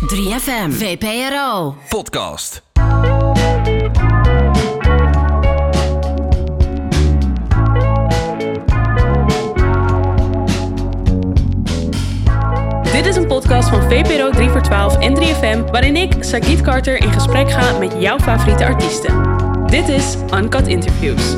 3FM, VPRO, podcast. Dit is een podcast van VPRO 3 voor 12 en 3FM... waarin ik, Sagit Carter, in gesprek ga met jouw favoriete artiesten. Dit is Uncut Interviews.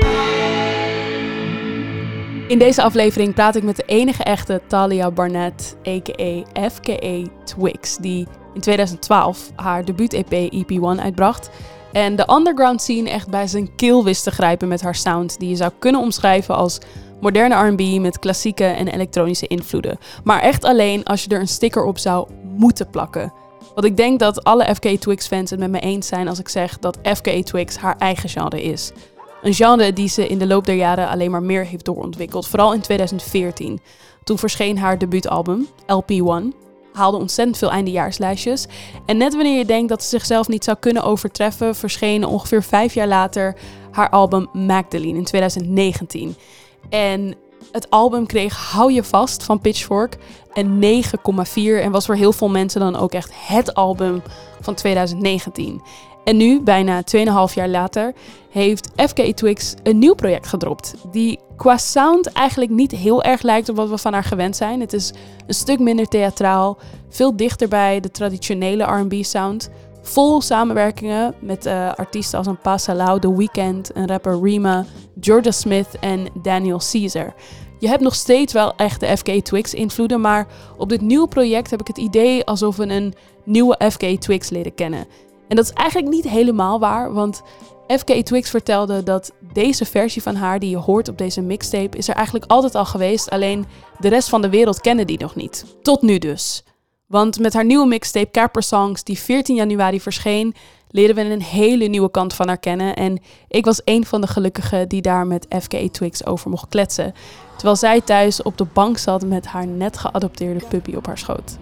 In deze aflevering praat ik met de enige echte Thalia Barnett, a.k.a. FKA Twigs... die in 2012 haar debuut-EP EP1 uitbracht... en de underground scene echt bij zijn keel wist te grijpen met haar sound... die je zou kunnen omschrijven als moderne R&B met klassieke en elektronische invloeden. Maar echt alleen als je er een sticker op zou moeten plakken. Want ik denk dat alle FKA Twigs fans het met me eens zijn als ik zeg dat FKA Twigs haar eigen genre is. Een genre die ze in de loop der jaren alleen maar meer heeft doorontwikkeld. Vooral in 2014. Toen verscheen haar debuutalbum, LP1. Haalde ontzettend veel eindejaarslijstjes. En net wanneer je denkt dat ze zichzelf niet zou kunnen overtreffen... verscheen ongeveer 5 jaar later haar album Magdalene in 2019. En het album kreeg Hou je vast van Pitchfork een 9,4 en was voor heel veel mensen dan ook echt het album van 2019. En nu, bijna 2,5 jaar later, heeft FKA Twigs een nieuw project gedropt. Die qua sound eigenlijk niet heel erg lijkt op wat we van haar gewend zijn. Het is een stuk minder theatraal, veel dichter bij de traditionele R&B sound. Vol samenwerkingen met artiesten als een Pa Salau, The Weeknd, een rapper Rema, Georgia Smith en Daniel Caesar. Je hebt nog steeds wel echt de FKA Twigs invloeden, maar op dit nieuwe project heb ik het idee alsof we een nieuwe FKA Twigs leren kennen. En dat is eigenlijk niet helemaal waar, want FKA Twigs vertelde dat deze versie van haar die je hoort op deze mixtape is er eigenlijk altijd al geweest, alleen de rest van de wereld kende die nog niet. Tot nu dus. Want met haar nieuwe mixtape Capra Songs, die 14 januari verscheen, leren we een hele nieuwe kant van haar kennen. En ik was een van de gelukkigen die daar met FKA Twigs over mocht kletsen. Terwijl zij thuis op de bank zat met haar net geadopteerde puppy op haar schoot.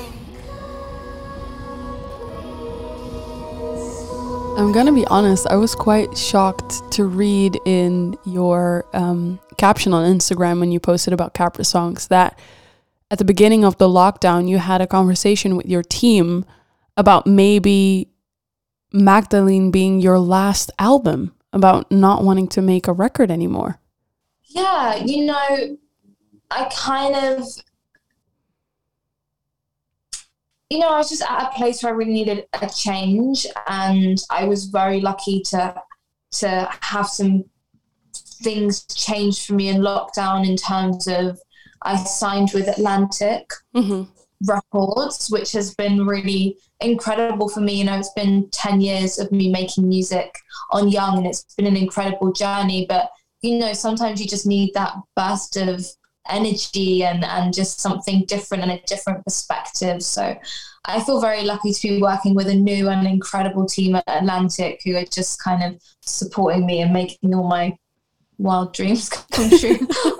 I'm gonna be honest, I was quite shocked to read in your caption on Instagram when you posted about Capra Songs that at the beginning of the lockdown, you had a conversation with your team about maybe Magdalene being your last album, about not wanting to make a record anymore. Yeah, you know, I was just at a place where I really needed a change, and I was very lucky to have some things change for me in lockdown in terms of I signed with Atlantic Records, which has been really incredible for me. You know, it's been 10 years of me making music on Young, and it's been an incredible journey. But, you know, sometimes you just need that burst of energy and just something different and a different perspective. So I feel very lucky to be working with a new and incredible team at Atlantic who are just kind of supporting me and making all my wild dreams come true.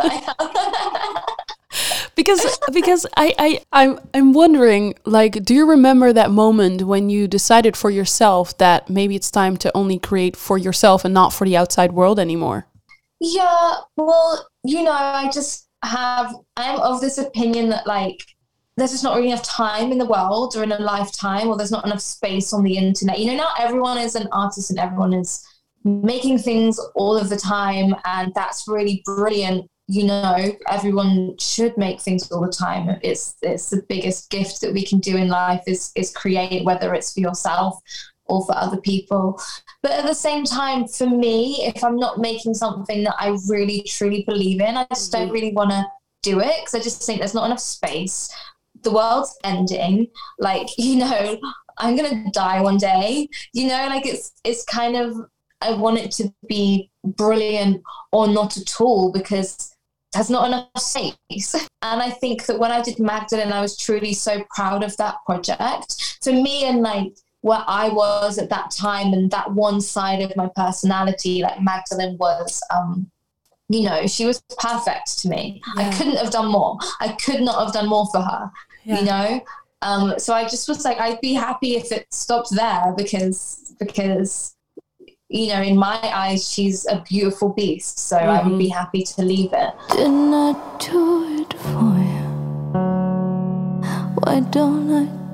Because I'm wondering, like, do you remember that moment when you decided for yourself that maybe it's time to only create for yourself and not for the outside world anymore? Yeah, well, you know, I'm of this opinion that, like, there's just not really enough time in the world or in a lifetime, or there's not enough space on the internet. You know, not everyone is an artist and everyone is making things all of the time, and that's really brilliant. You know, everyone should make things all the time. It's the biggest gift that we can do in life is create, whether it's for yourself or for other people. But at the same time, for me, if I'm not making something that I really, truly believe in, I just don't really want to do it because I just think there's not enough space. The world's ending. Like, you know, I'm going to die one day. You know, like it's kind of, I want it to be brilliant or not at all because there's not enough space. And I think that when I did Magdalene, I was truly so proud of that project. For me, and like where I was at that time and that one side of my personality, like Magdalene was, you know, she was perfect to me. Yeah. I couldn't have done more. I could not have done more for her, you know? So I just was like, I'd be happy if it stopped there because you know, in my eyes, she's a beautiful beast. So I would be happy to leave it. Didn't I do it for you? Why don't I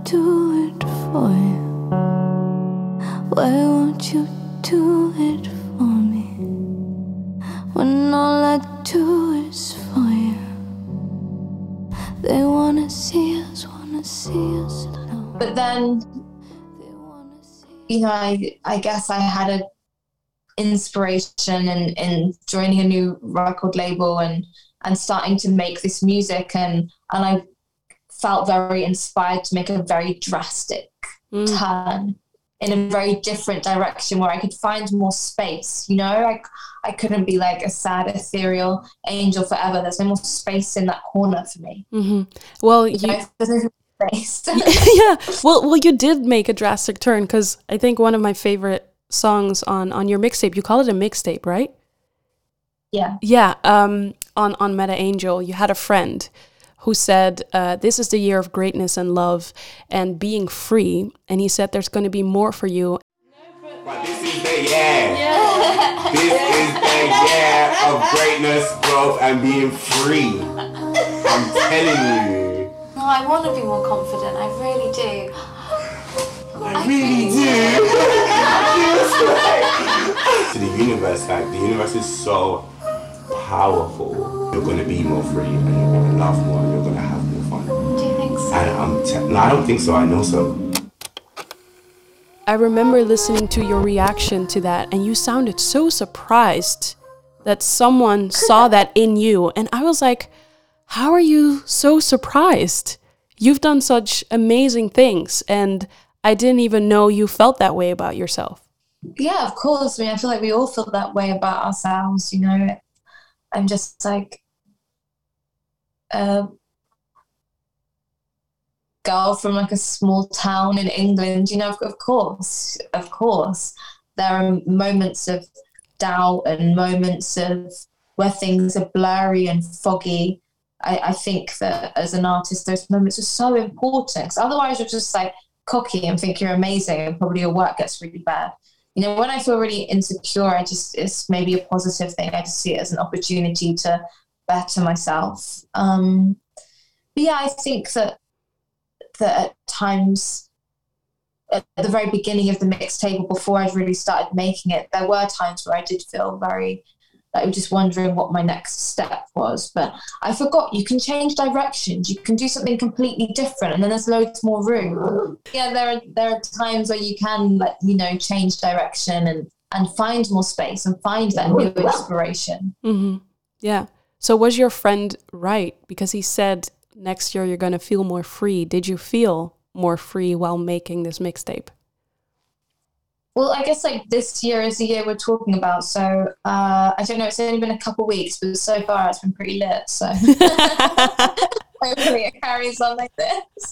do it for you? Why won't you do it for me? When all I do is for you. They wanna see us alone. But then, you know, I guess I had an inspiration in joining a new record label and starting to make this music, and I felt very inspired to make a very drastic turn in a very different direction where I could find more space. You know, I couldn't be like a sad, ethereal angel forever. There's no more space in that corner for me. Mm-hmm. Well, there's no space. Yeah. Well, you did make a drastic turn, because I think one of my favorite songs on your mixtape, you call it a mixtape, right? Yeah. Yeah. On Meta Angel, you had a friend who said, this is the year of greatness and love and being free. And he said there's going to be more for you. But this is the year. Yeah. This is the year of greatness, growth, and being free. I'm telling you. No, I want to be more confident. I really do. I really do. To the universe, like, the universe is so powerful. You're going to be more free, and you're going to laugh more, and you're going to have more fun. Do you think so? And no, I don't think so. I know so. I remember listening to your reaction to that, and you sounded so surprised that someone saw that in you. And I was like, how are you so surprised? You've done such amazing things, and I didn't even know you felt that way about yourself. Yeah, of course. I mean, I feel like we all feel that way about ourselves, you know. I'm just like a girl from like a small town in England, you know, of course. There are moments of doubt and moments of where things are blurry and foggy. I think that as an artist, those moments are so important, because otherwise you're just like cocky and think you're amazing and probably your work gets really bad. You know, when I feel really insecure, it's maybe a positive thing. I just see it as an opportunity to better myself. But yeah, I think that at times, at the very beginning of the mixtape, before I'd really started making it, there were times where I did feel very, like, just wondering what my next step was. But I forgot you can change directions. You can do something completely different, and then there's loads more room. Yeah, there are times where you can, like, you know, change direction and find more space and find that new inspiration. Mm-hmm. Yeah. So was your friend right? Because he said next year you're going to feel more free. Did you feel more free while making this mixtape? Well, I guess like this year is the year we're talking about. So I don't know, it's only been a couple of weeks, but so far it's been pretty lit. So hopefully it carries on like this.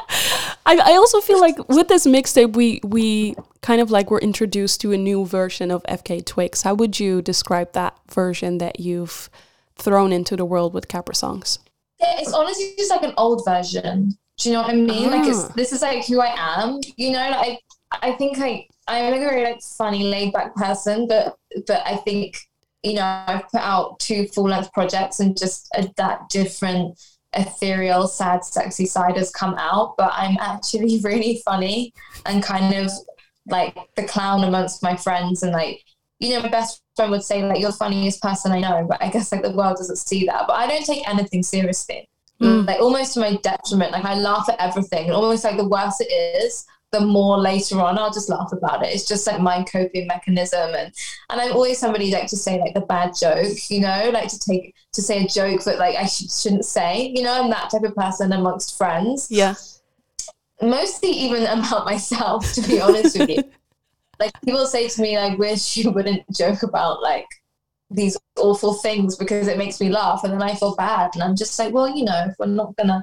I also feel like with this mixtape, we kind of like were introduced to a new version of FKA Twigs. How would you describe that version that you've thrown into the world with Capra Songs? Yeah, it's honestly just like an old version. Do you know what I mean? Like this is like who I am. You know, like I think like I'm a very like funny, laid back person, but I think, you know, I've put out 2 full-length projects and just that different ethereal, sad, sexy side has come out. But I'm actually really funny and kind of like the clown amongst my friends. And like, you know, my best friend would say like, you're the funniest person I know, but I guess like the world doesn't see that. But I don't take anything seriously. Like almost to my detriment. Like I laugh at everything, and almost like the worse it is, the more later on I'll just laugh about it. It's just like my coping mechanism. And I'm always somebody like to say like the bad joke, you know, like to say a joke that like I shouldn't say, you know. I'm that type of person amongst friends. Yeah. Mostly even about myself, to be honest with you. Like people say to me, I wish you wouldn't joke about like these awful things because it makes me laugh, and then I feel bad. And I'm just like, well, you know, if we're not gonna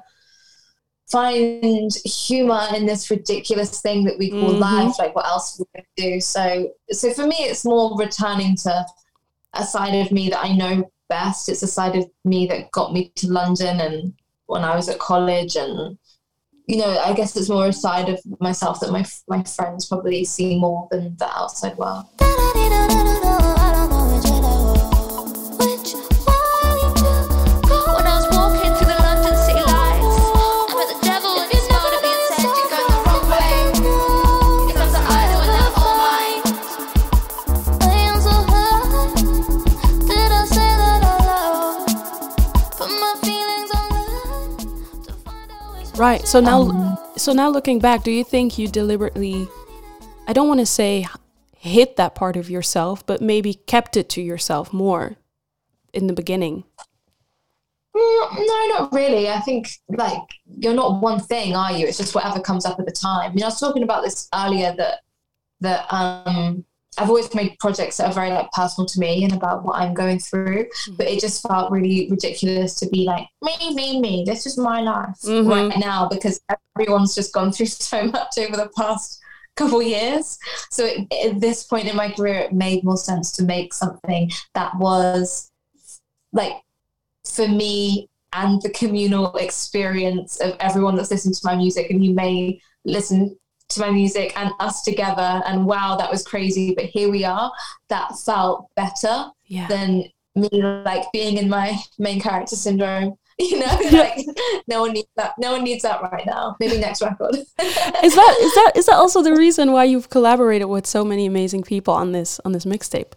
find humor in this ridiculous thing that we call life, like what else are we gonna do? So for me, it's more returning to a side of me that I know best. It's a side of me that got me to London and when I was at college, and you know, I guess it's more a side of myself that my friends probably see more than the outside world. When I was walking through the London city lights, I met the devil and he smiled at me and said, "You're going Right. So now looking back, do you think you deliberately, I don't want to say hid that part of yourself, but maybe kept it to yourself more in the beginning? No, not really. I think like you're not one thing, are you? It's just whatever comes up at the time. I mean, I was talking about this earlier that I've always made projects that are very like personal to me and about what I'm going through, but it just felt really ridiculous to be like me. This is my life right now because everyone's just gone through so much over the past couple years. So at this point in my career, it made more sense to make something that was like for me and the communal experience of everyone that's listened to my music, and you may listen to my music and us together and wow, that was crazy, but here we are. That felt better than me like being in my main character syndrome, you know. Like no one needs that right now. Maybe next record. Is that also the reason why you've collaborated with so many amazing people on this mixtape?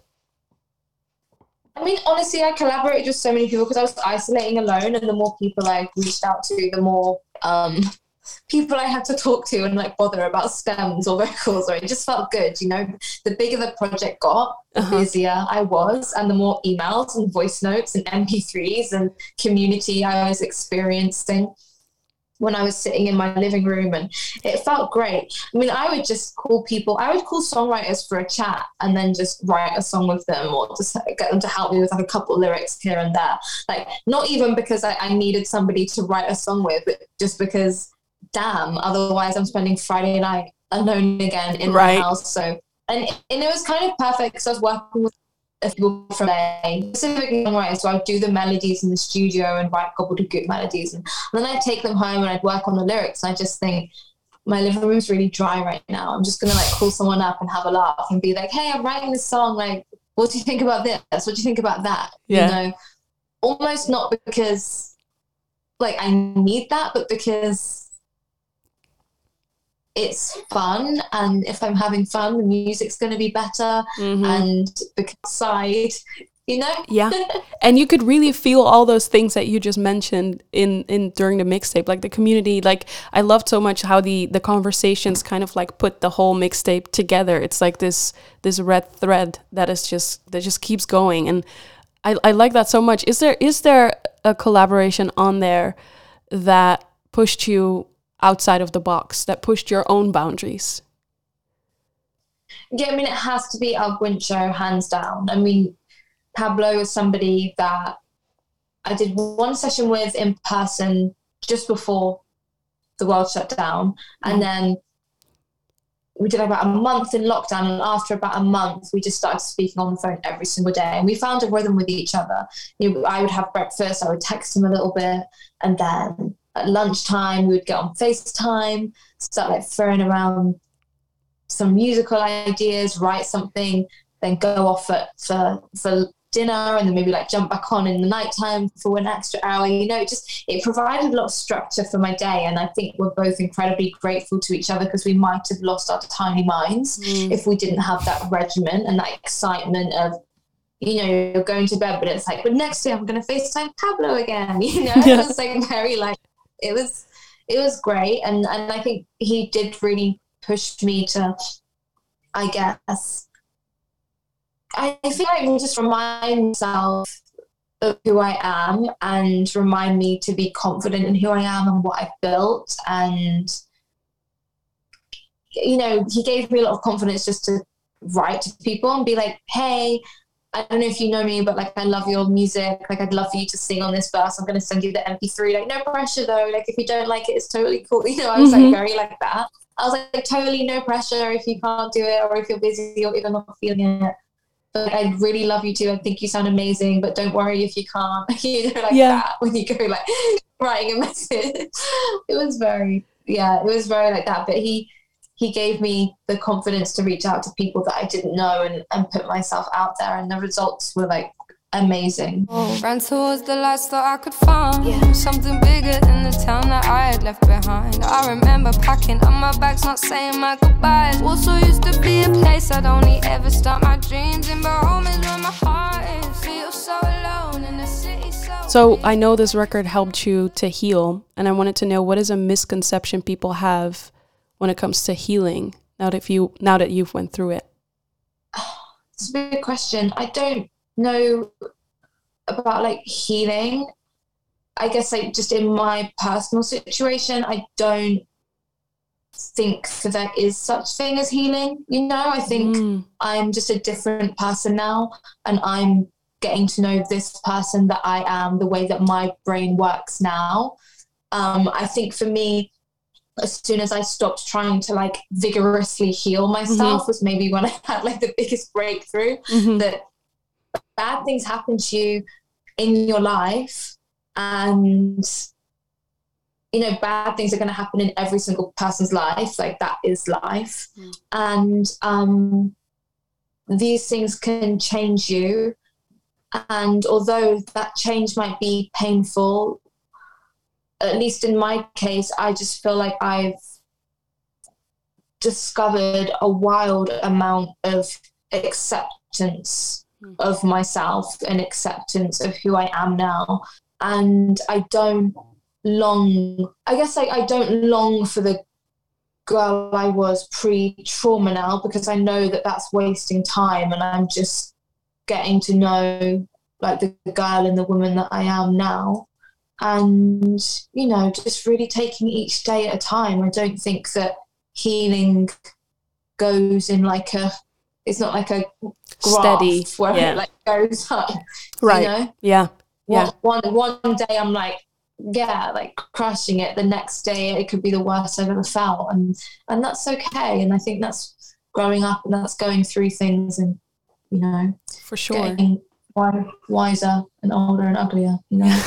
I mean, honestly, I collaborated with so many people because I was isolating alone, and the more people I reached out to, the more people I had to talk to and like bother about stems or vocals, or it just felt good, you know. The bigger the project got, the busier I was, and the more emails and voice notes and MP3s and community I was experiencing when I was sitting in my living room, and it felt great. I mean, I would call songwriters for a chat and then just write a song with them, or just get them to help me with like a couple of lyrics here and there. Like, not even because I needed somebody to write a song with, but just because, damn, otherwise I'm spending Friday night alone again in my house. So, and it was kind of perfect because I was working with people from LA, specifically songwriters, so I'd do the melodies in the studio and write gobbledygook melodies, and then I'd take them home and I'd work on the lyrics, and I just think my living room's really dry right now. I'm just gonna like call someone up and have a laugh and be like, hey, I'm writing this song, like, what do you think about this? What do you think about that? You know, almost not because like I need that, but because it's fun, and if I'm having fun, the music's going to be better, and beside, you know. And you could really feel all those things that you just mentioned in during the mixtape, like the community. Like, I loved so much how the conversations kind of like put the whole mixtape together. It's like this red thread that just keeps going, and I like that so much. Is there a collaboration on there that pushed you outside of the box, that pushed your own boundaries? Yeah, I mean, it has to be Al Guincho, hands down. I mean, Pablo is somebody that I did one session with in person just before the world shut down. And then we did about a month in lockdown. And after about a month, we just started speaking on the phone every single day. And we found a rhythm with each other. You know, I would have breakfast, I would text him a little bit, and then at lunchtime, we would get on FaceTime, start like throwing around some musical ideas, write something, then go off for dinner, and then maybe like jump back on in the nighttime for an extra hour. You know, it provided a lot of structure for my day. And I think we're both incredibly grateful to each other, because we might have lost our tiny minds if we didn't have that regimen and that excitement of, you know, you're going to bed, but it's like, but next day I'm going to FaceTime Pablo again. You know, it was like very like, it was great. And I think he did really push me to, I guess, I feel like just remind myself of who I am and remind me to be confident in who I am and what I've built. And, you know, he gave me a lot of confidence just to write to people and be like, hey, I don't know if you know me, but like, I love your music. Like, I'd love for you to sing on this verse. I'm going to send you the MP3. Like, no pressure though. Like, if you don't like it, it's totally cool. You know, I was like very like that. I was like, totally no pressure if you can't do it, or if you're busy or even not feeling it. But like, I really love you too. I think you sound amazing, but don't worry if you can't. You know, like that, when you go like writing a message. It was very like that. But he gave me the confidence to reach out to people that I didn't know and put myself out there, and the results were like amazing. Ran towards the lights, thought I could find something bigger than the town that I had left behind. I remember packing up my bags, not saying my goodbyes. Also used to be a place I'd only ever start my dreams in, but home is where my heart is. Feel so alone in the city, so So I know this record helped you to heal, and I wanted to know, what is a misconception people have when it comes to healing now that you've went through it? It's a big question. I don't know about like healing. I guess like just in my personal situation, I don't think that there is such thing as healing. You know, I think I'm just a different person now, and I'm getting to know this person that I am, the way that my brain works now. I think for me, as soon as I stopped trying to like vigorously heal myself was maybe when I had like the biggest breakthrough that bad things happen to you in your life, and you know, bad things are going to happen in every single person's life. Like, that is life. And these things can change you. And although that change might be painful, at least in my case, I just feel like I've discovered a wild amount of acceptance of myself and acceptance of who I am now. And I don't long for the girl I was pre-trauma now, because I know that that's wasting time, and I'm just getting to know like the girl and the woman that I am now, and you know, just really taking each day at a time. I don't think that healing goes in like it's not like a graph steady where it like goes up, right? You know? One day I'm like crushing it. The next day it could be the worst I've ever felt, and that's okay. And I think that's growing up, and that's going through things, and you know, for sure, getting wiser and older and uglier, you know.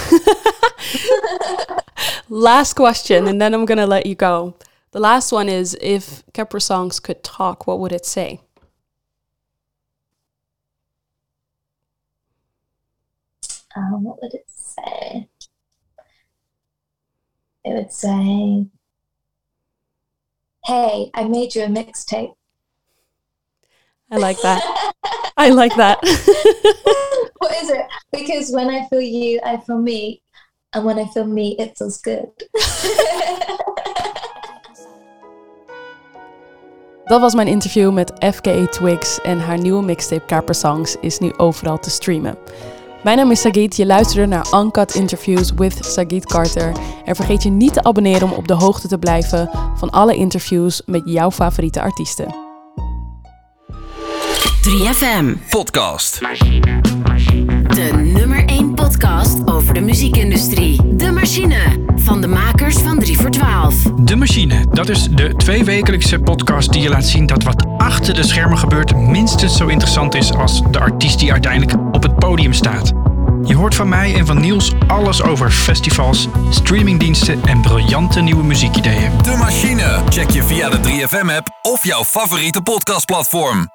Last question, and then I'm gonna let you go. The last one is, if Capra Songs could talk, what would it say? What would it say? It would say, "Hey, I made you a mixtape." I like that. I like that. What is it? Because when I feel you, I feel me. And when I feel me, it feels good. Dat was mijn interview met FKA Twigs, en haar nieuwe mixtape Capra Songs is nu overal te streamen. Mijn naam is Sagit, je luisterde naar Uncut Interviews with Sagit Carter. En vergeet je niet te abonneren om op de hoogte te blijven van alle interviews met jouw favoriete artiesten. 3FM Podcast. De nummer 1 podcast over de muziekindustrie. De Machine, van de makers van 3 voor 12. De Machine, dat is de 2-wekelijkse podcast die je laat zien dat wat achter de schermen gebeurt minstens zo interessant is als de artiest die uiteindelijk op het podium staat. Je hoort van mij en van Niels alles over festivals, streamingdiensten en briljante nieuwe muziekideeën. De Machine. Check je via de 3FM-app of jouw favoriete podcastplatform.